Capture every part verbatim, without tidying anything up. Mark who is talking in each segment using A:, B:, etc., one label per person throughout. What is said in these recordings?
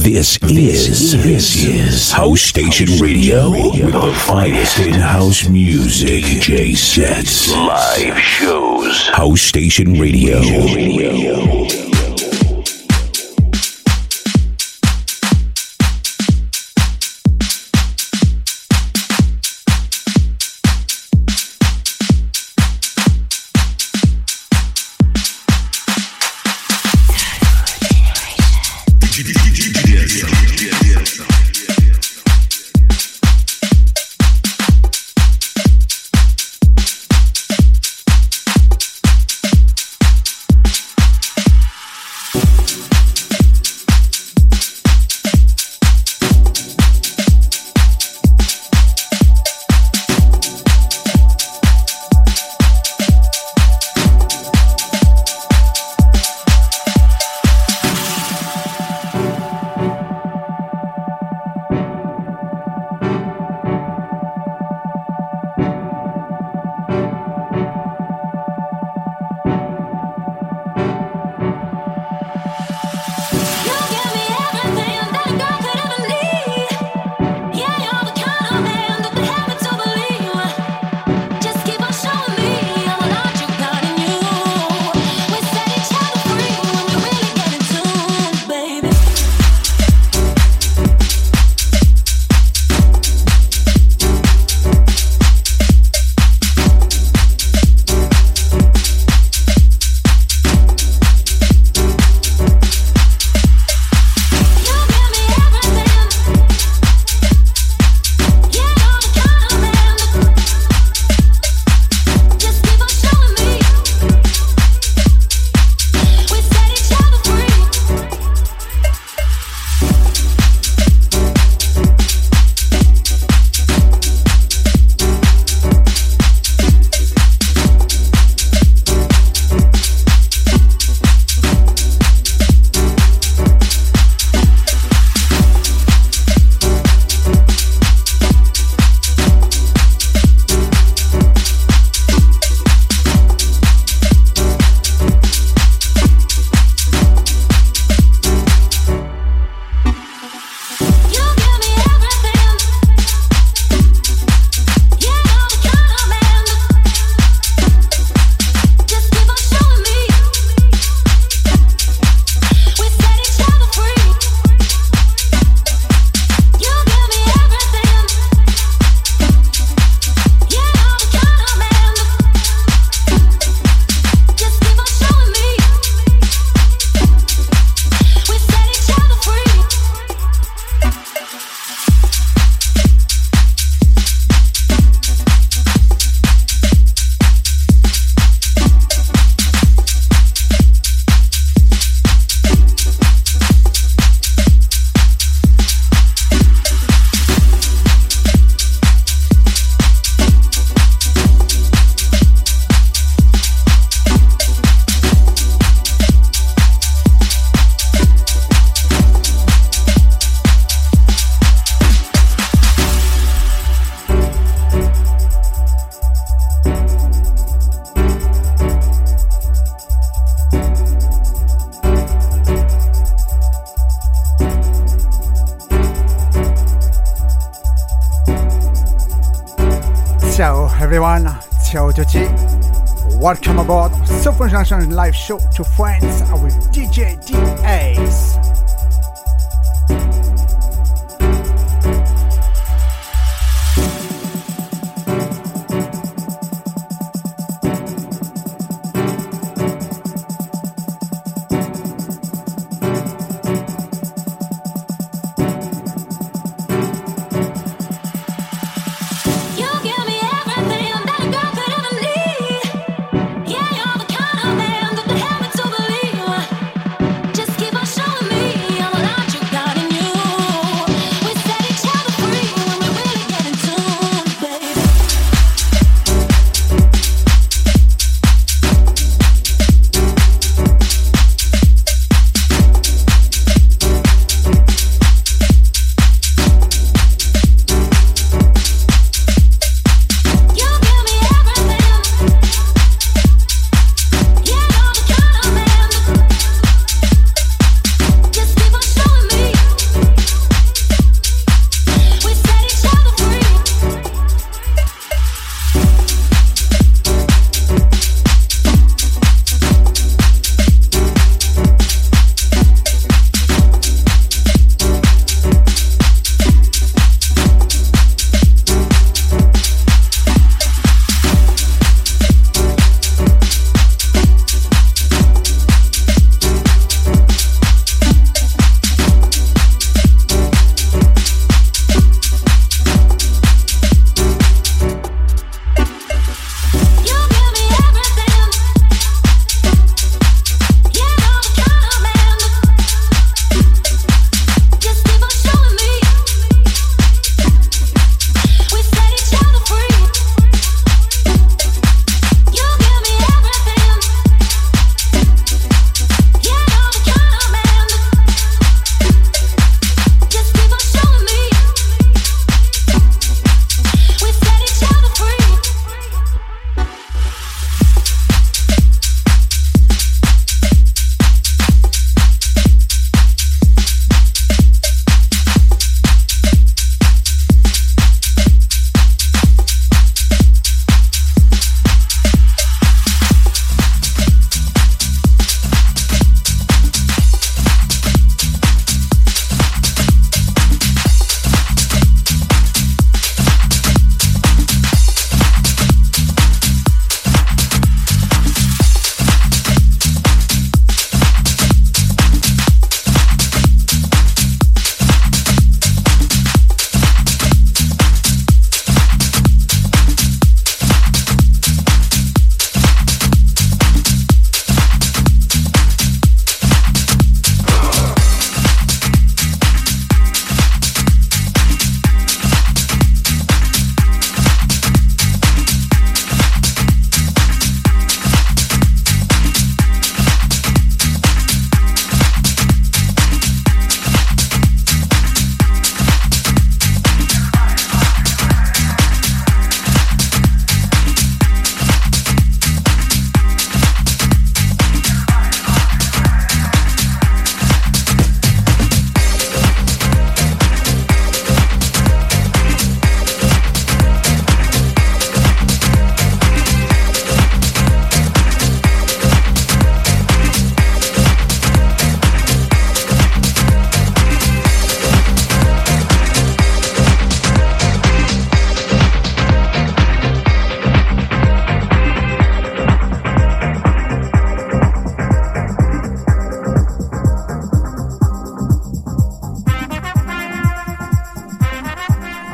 A: This is this is House Station Radio with the finest in house music. D J sets, live shows. House Station Radio. Radio.
B: Ciao a tutti. Welcome aboard Super Junction live show to friends with D J D Ace.
C: Showing me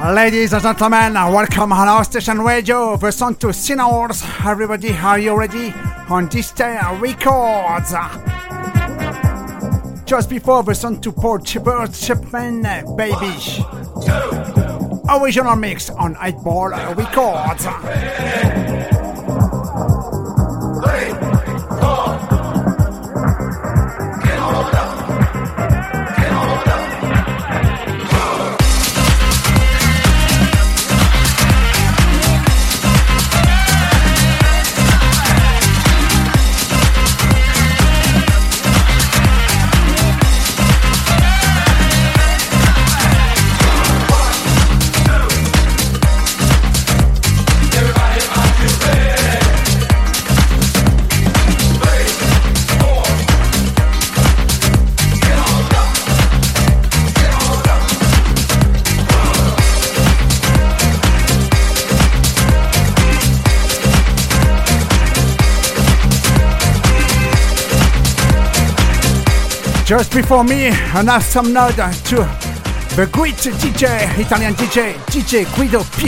B: Ladies and gentlemen, welcome on our station radio. The song to Sinners. Everybody, are you ready? On this day, records. Just before the song to Paul Chipper, Chipman, Baby. Original mix on eight Ball Records. Just before me, and have some nod to the great D J, Italian D J, D J Guido P.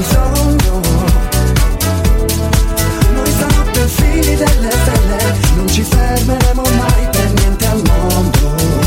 C: sogno. Noi stanotte figli delle stelle, non ci fermeremo mai per niente al mondo.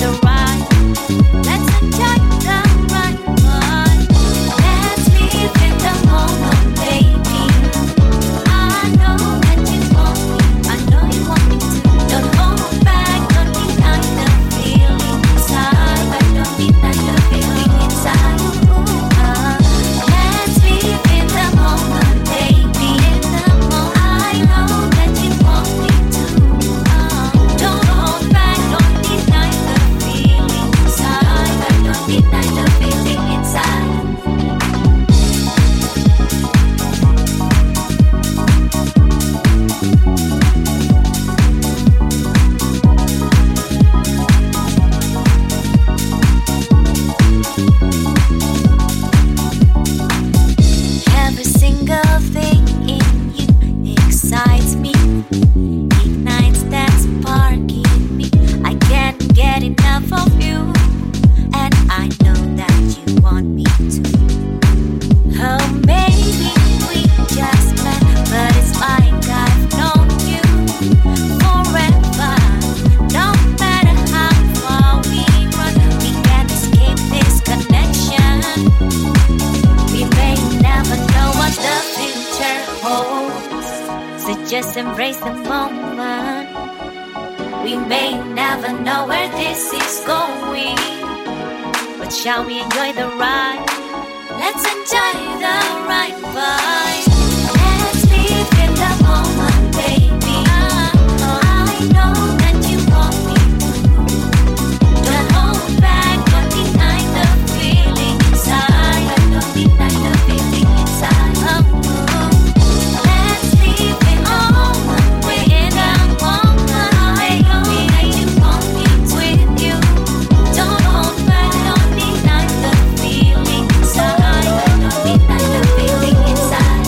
D: Let's enjoy the right one. Let's live in just embrace the moment. We may never know where this is going, but shall we enjoy the ride? Let's enjoy the ride, vibe. Let's live in the moment, baby. I know that you want me to. Don't hold back, don't deny the feeling inside. Don't deny the feeling inside. Oh, let's live in the moment, in the moment, baby. That you want me with you. Don't hold back, don't deny the feeling inside. Don't deny the feeling inside.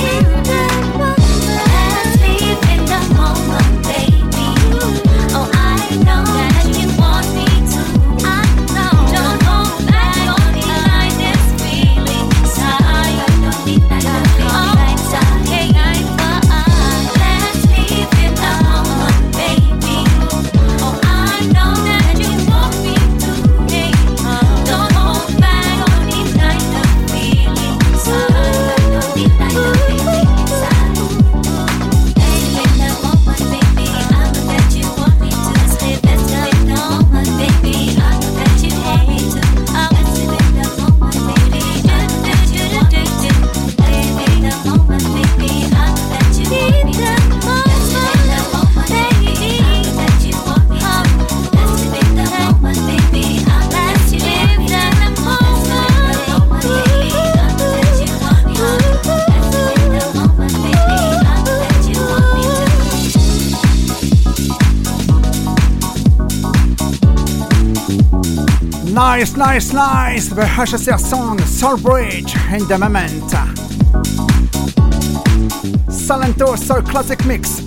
D: Let's live in the moment, baby. Oh, I know that you want me to. I know. Don't hold back, don't deny this feeling inside. Don't deny the feeling inside. Hey, I let's live in the moment, baby. Oh, I know that you want me to. Hey, don't hold back, don't deny the feeling inside. Don't deny the feeling inside. Let's live in the moment, baby. I know that you want me to. Let's live, let's live in the moment, baby. I know that you want me to. Let's live in the moment, baby. Do do do do do do. Live in the moment, baby. I know that you want me to. Let's live in the moment, baby. I know that you want me to. Let's live in the moment, baby. I know that you want me to. Let's live in the moment, baby. I know that you want me to. Let's live in the moment, baby. I know that you want me to.
B: Nice, nice, nice. The H C R song Soul Bridge in the moment. Salento Soul Classic Mix.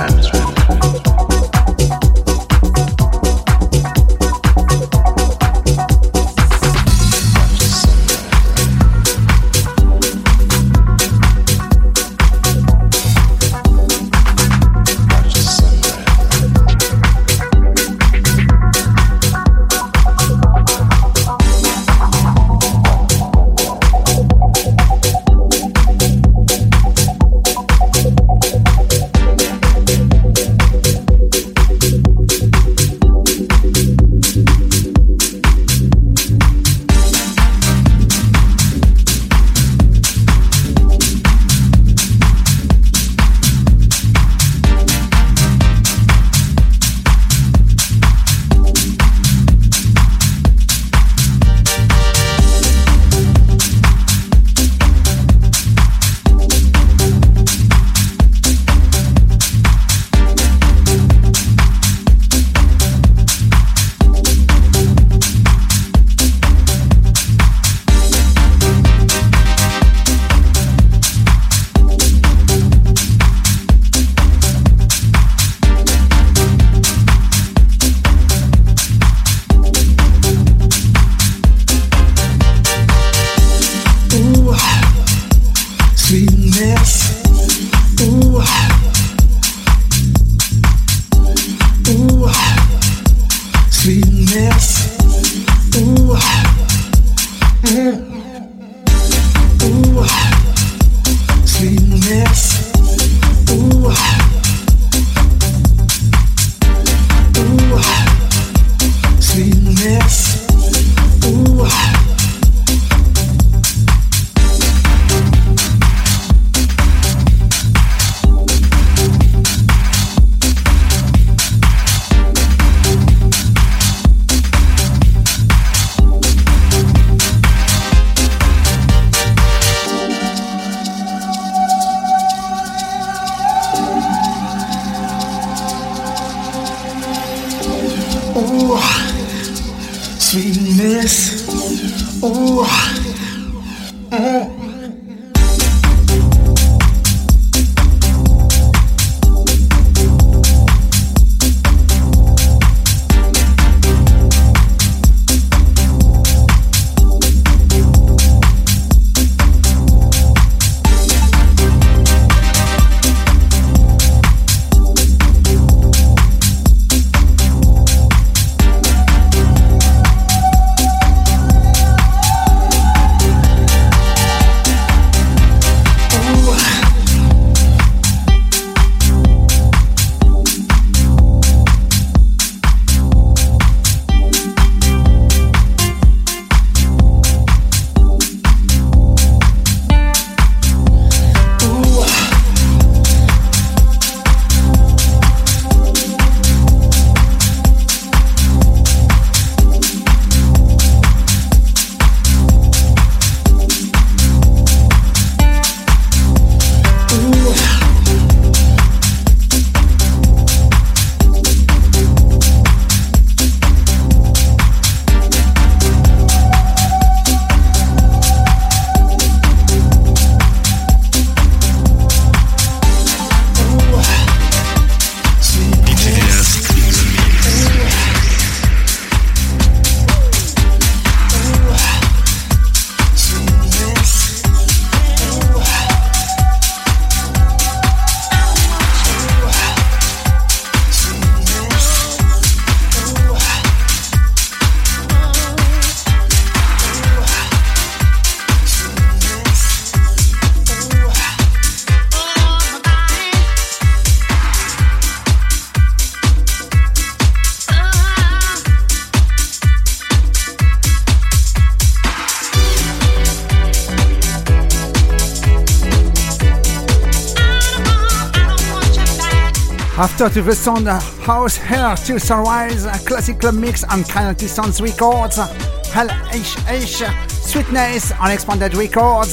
B: After to the sound House Hair to Sunrise, a classic club mix on Canality Sounds Records, Hell H H, Sweetness on Expanded Records.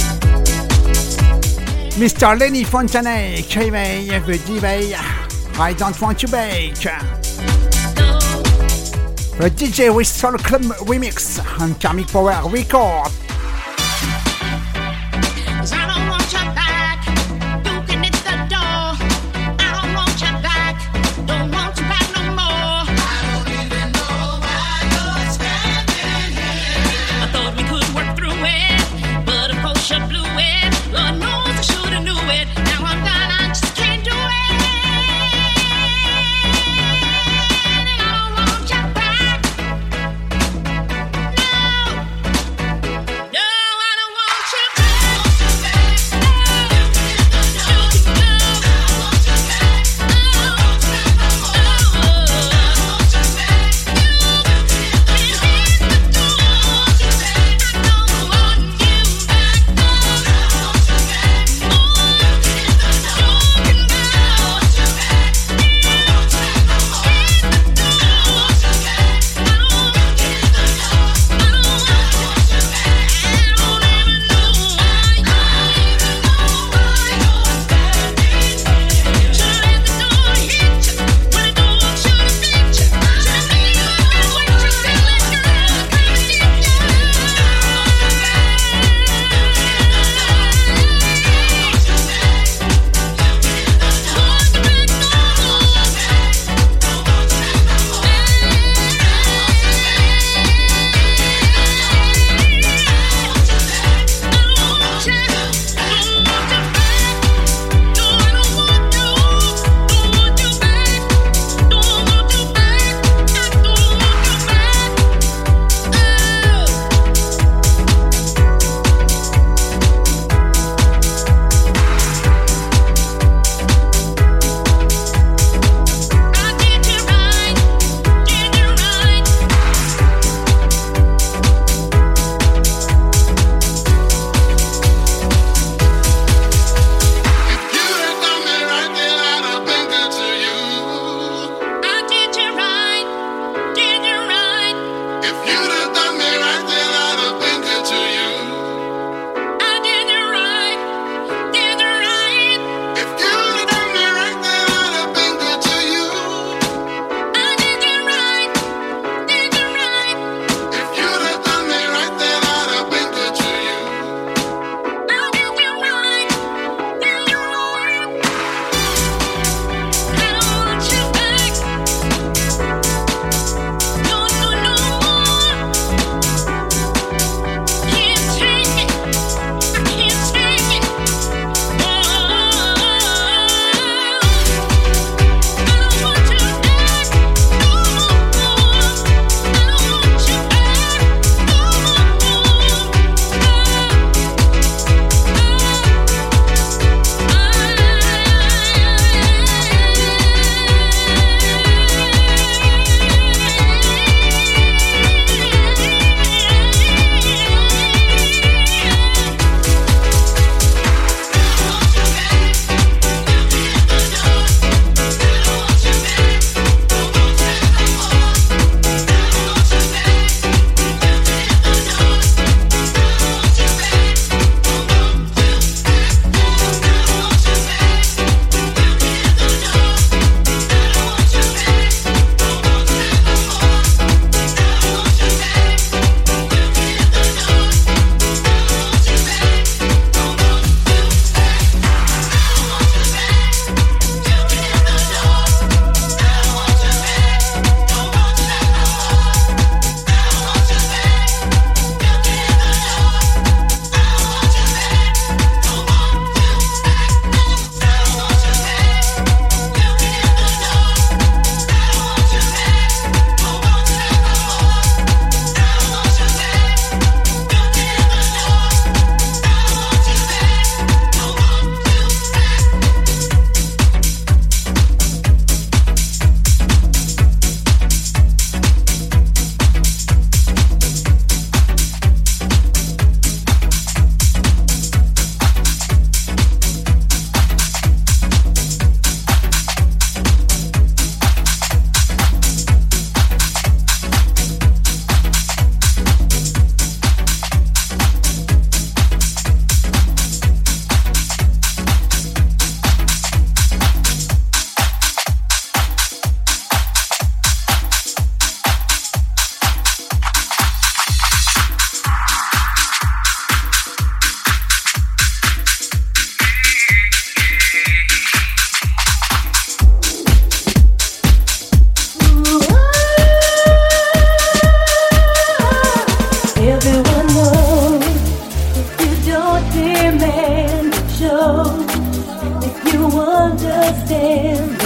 B: Mister Lenny Fontaine, K V, the D J, I Don't Want You Back. The D J with Soul Club remix on Karmic Power Records.
E: I don't want you back, you can hit the door. I don't want you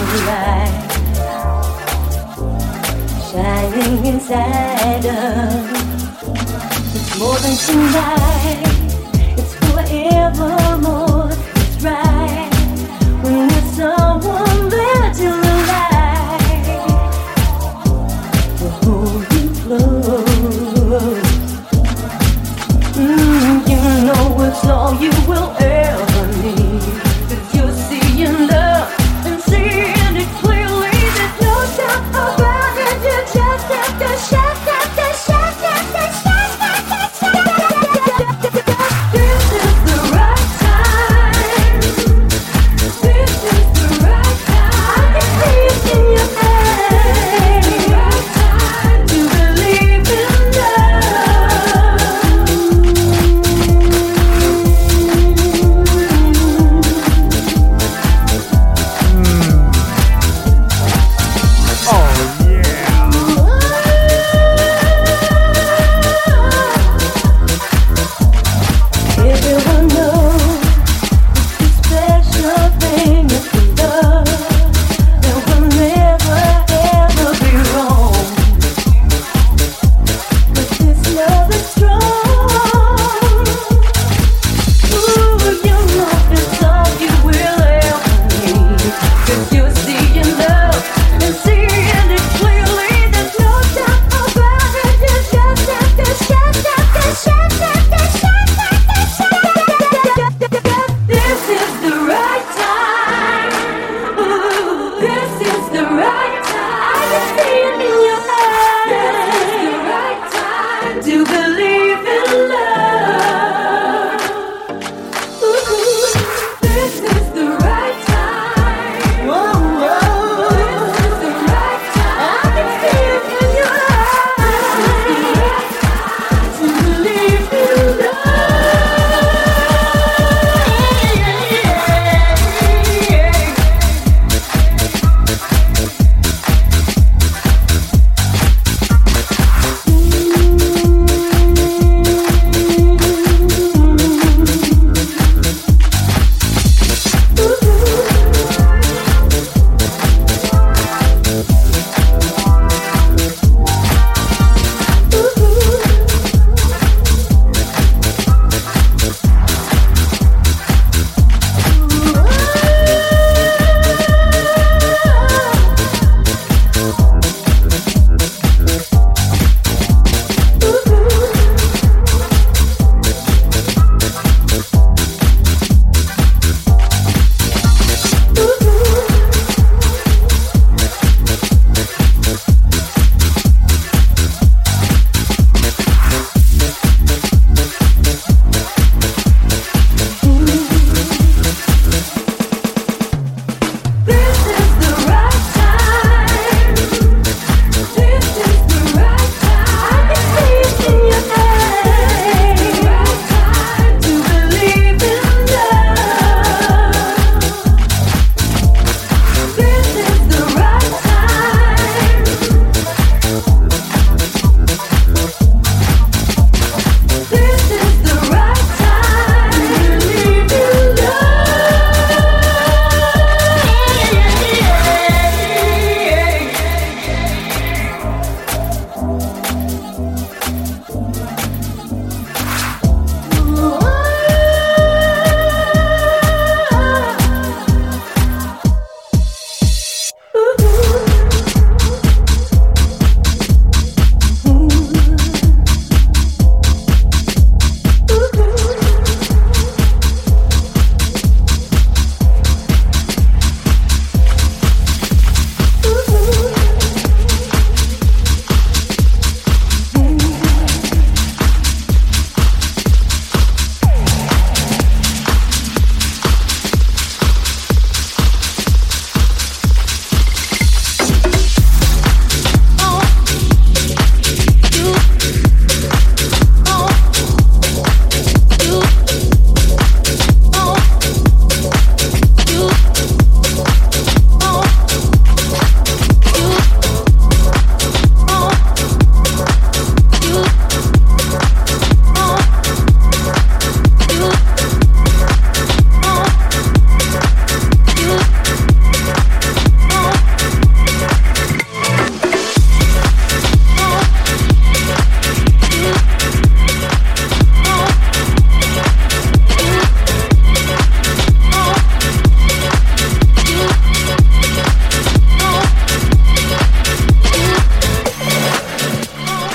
E: light shining inside us. It's more than tonight, it's forevermore. It's right when there's someone there to light to hold you close. Mm, you know it's all you will ever need. 'Cause you're seeing love and seeing it clearly. There's no doubt about it. You just have to shut up, to shut up, to shut up, to shut up. This is the right time. This is the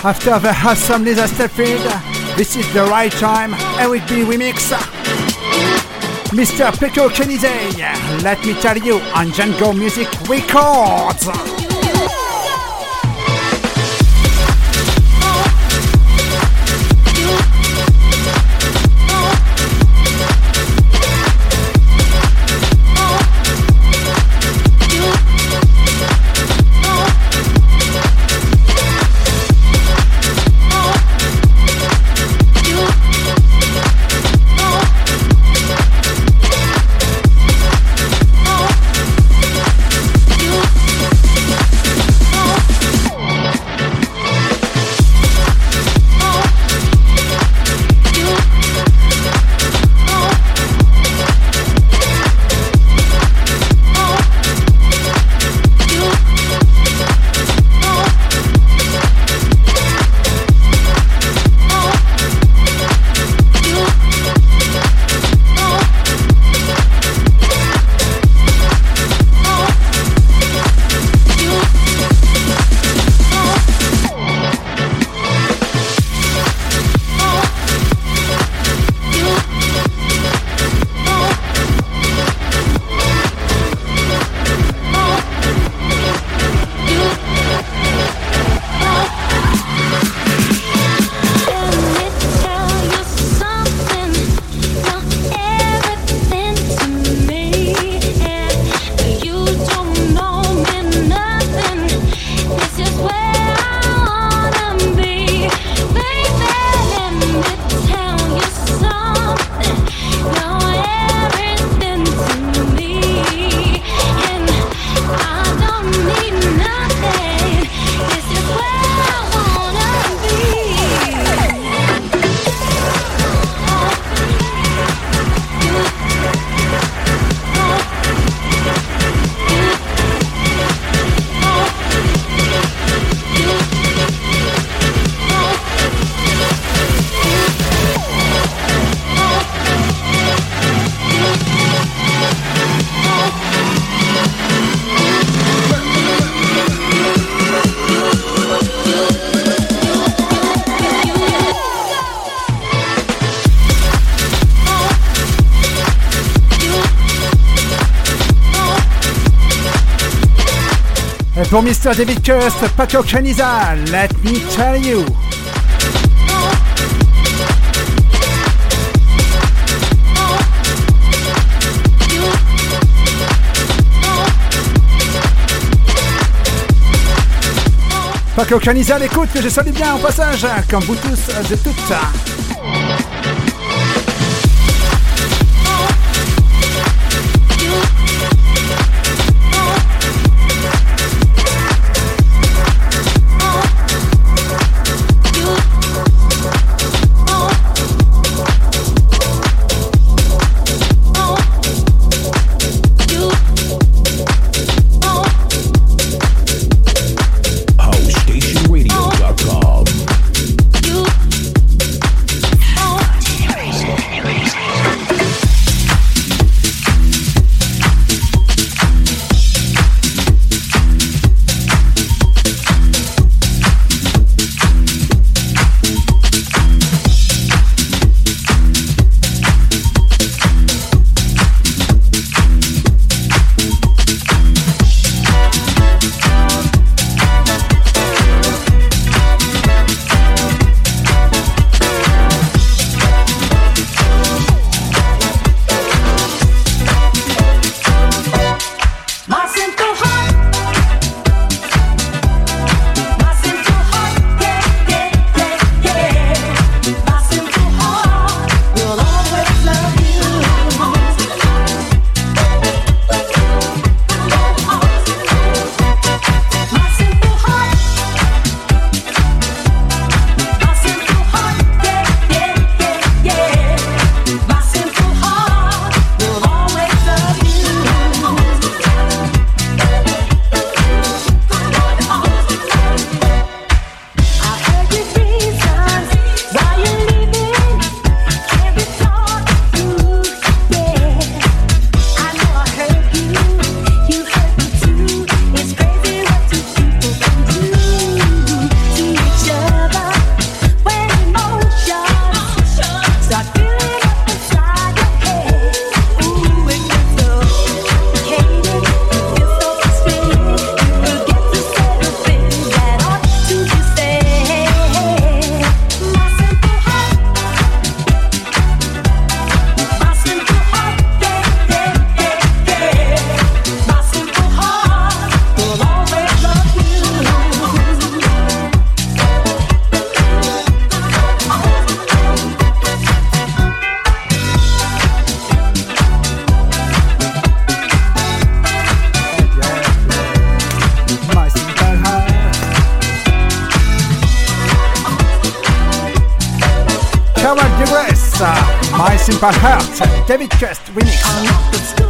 B: After the awesome Lisa Stepfield, this is The Right Time, Eric B remix. Mister Peko Kenizei, let me tell you, on Django Music Records. Pour Mister David Kirst, Paco Caniza, let me tell you. Paco Caniza, l'écoute que je salue bien au passage, comme vous tous de toutes.
A: house station radio dot com.
B: My Simple Heart, David Cust remix.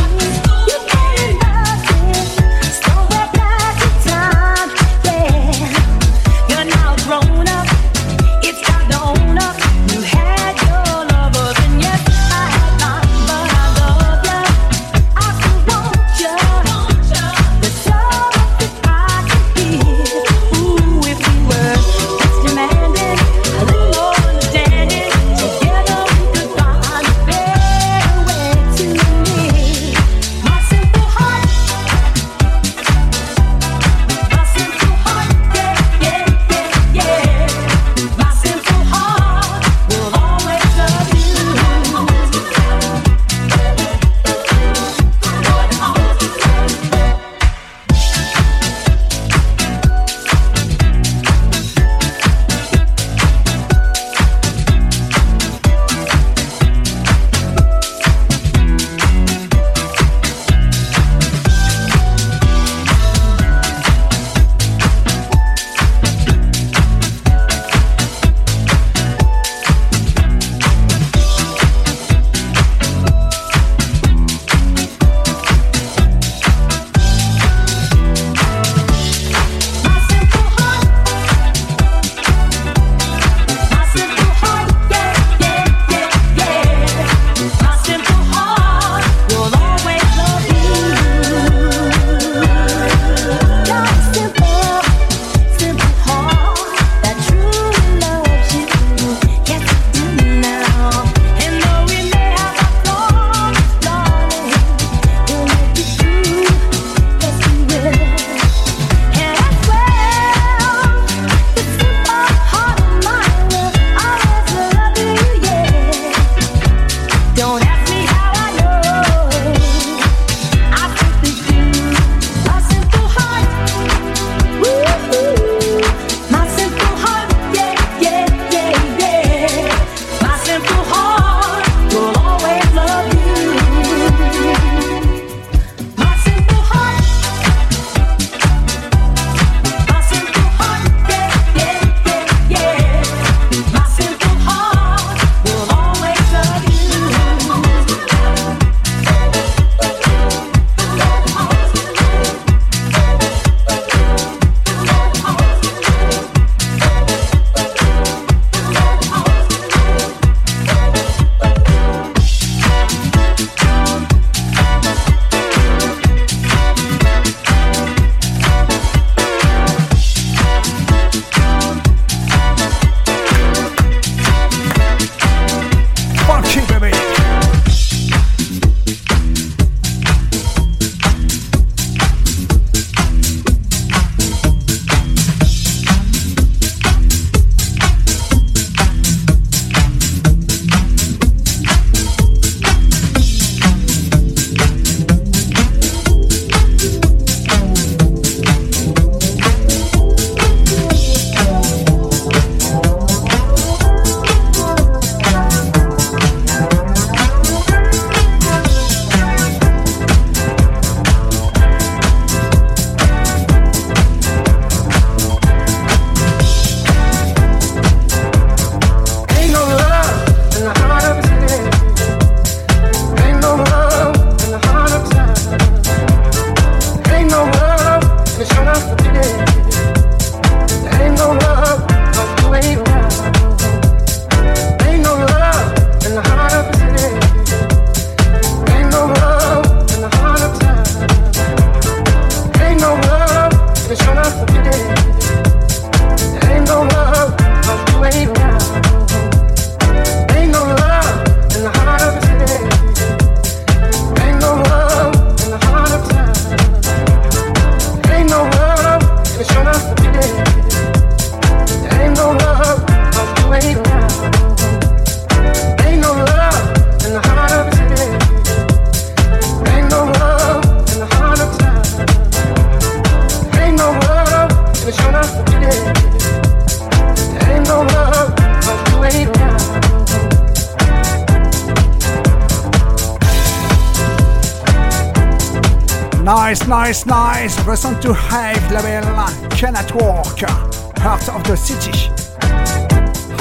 B: Nice, nice, nice. Listen to Hive label, Cannot Walk, Heart of the City.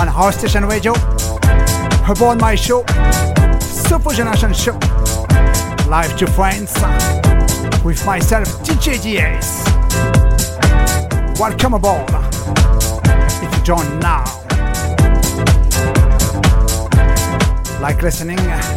B: on House Station Radio, aboard my show, Super Generation Show, live to friends, with myself, D J D S. Welcome aboard. If you join now, like listening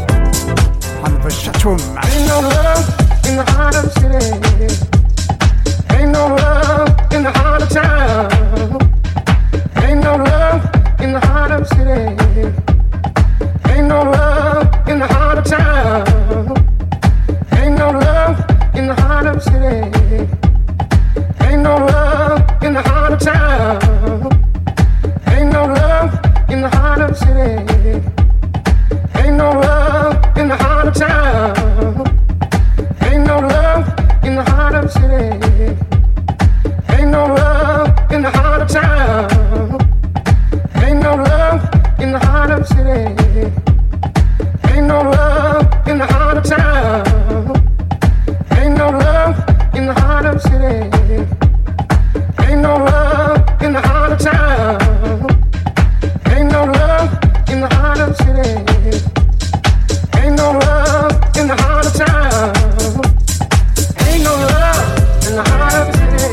B: on the chat room.
F: Ain't no love in the heart of the city. Ain't no love in the heart of town. Ain't no love in the heart of the city. Ain't no love in the heart of town. Ain't no love in the heart of the city. Ain't no love in the heart of town. Ain't no love in the heart of the city. Ain't no love in the heart of town. Ain't no love in the heart of the city. Ain't no love in the heart of town. Ain't no love in the heart of the city. Ain't no love in the heart of town. Ain't no love in the heart of the city. Ain't no love in the heart of town. Ain't no love in the heart of the city. Ain't no love in the heart of town. Ain't no love in the heart of the city.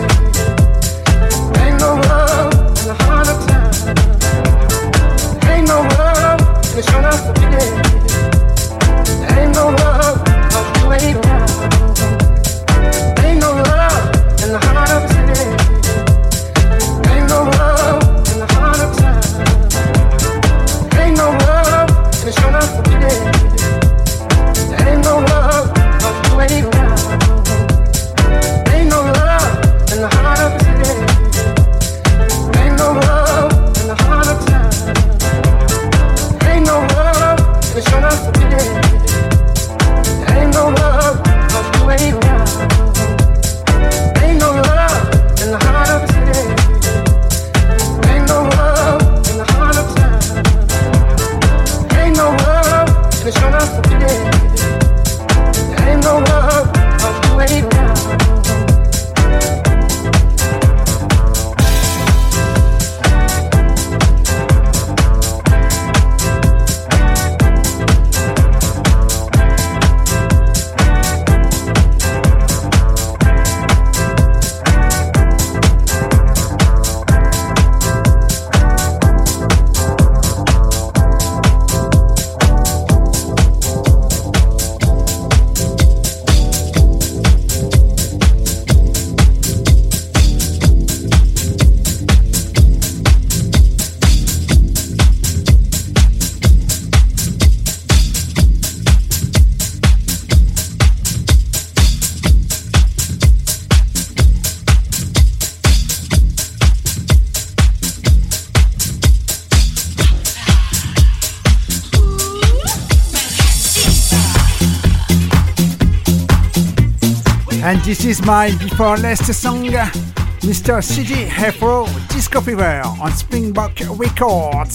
F: Ain't no love in the heart of town. Ain't no love in the short of the city. Ain't no love of you ain't around. Ain't no love in the heart of the city. Ain't no love in the heart of town. Ain't no love in the short of the city. Ain't no love of you ain't around. Ain't no love in the heart of the city. Ain't no love in the heart of town. Ain't no love in the short of the city. Ain't no love of you ain't around. Ain't no love in the heart of the city. Ain't no love in the heart of town. Ain't no love in the short of the city. Ain't no love of you ain't around.
B: And this is my before last song, Mister C D Afro Disco Fever on Springbok Records.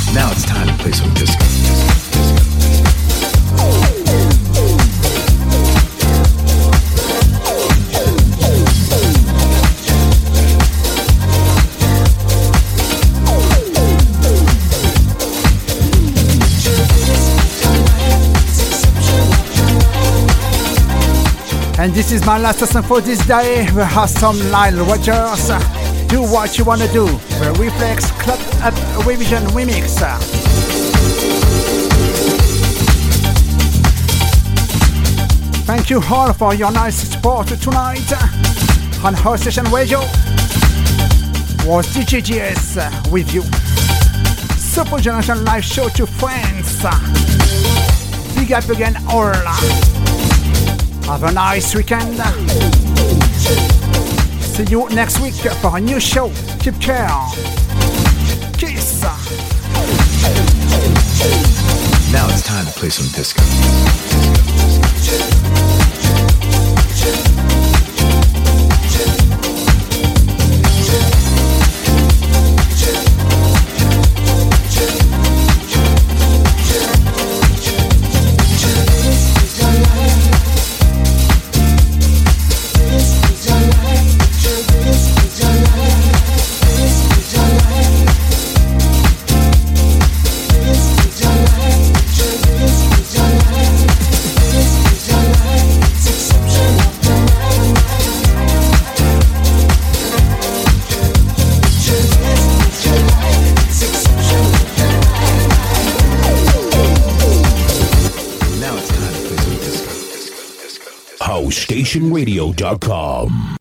A: Now it's time to play some disco.
B: And this is my last song for this day. We have some Nile Rodgers. Do what you wanna do. The Reflex Club Up Revision Remix. Thank you all for your nice support tonight. On House Station Radio was D J G S with you. Super Generation Live Show to friends. Big up again all. Have a nice weekend. See you next week for a new show. Keep care. Kiss.
A: Now it's time to play some disco. house station radio dot com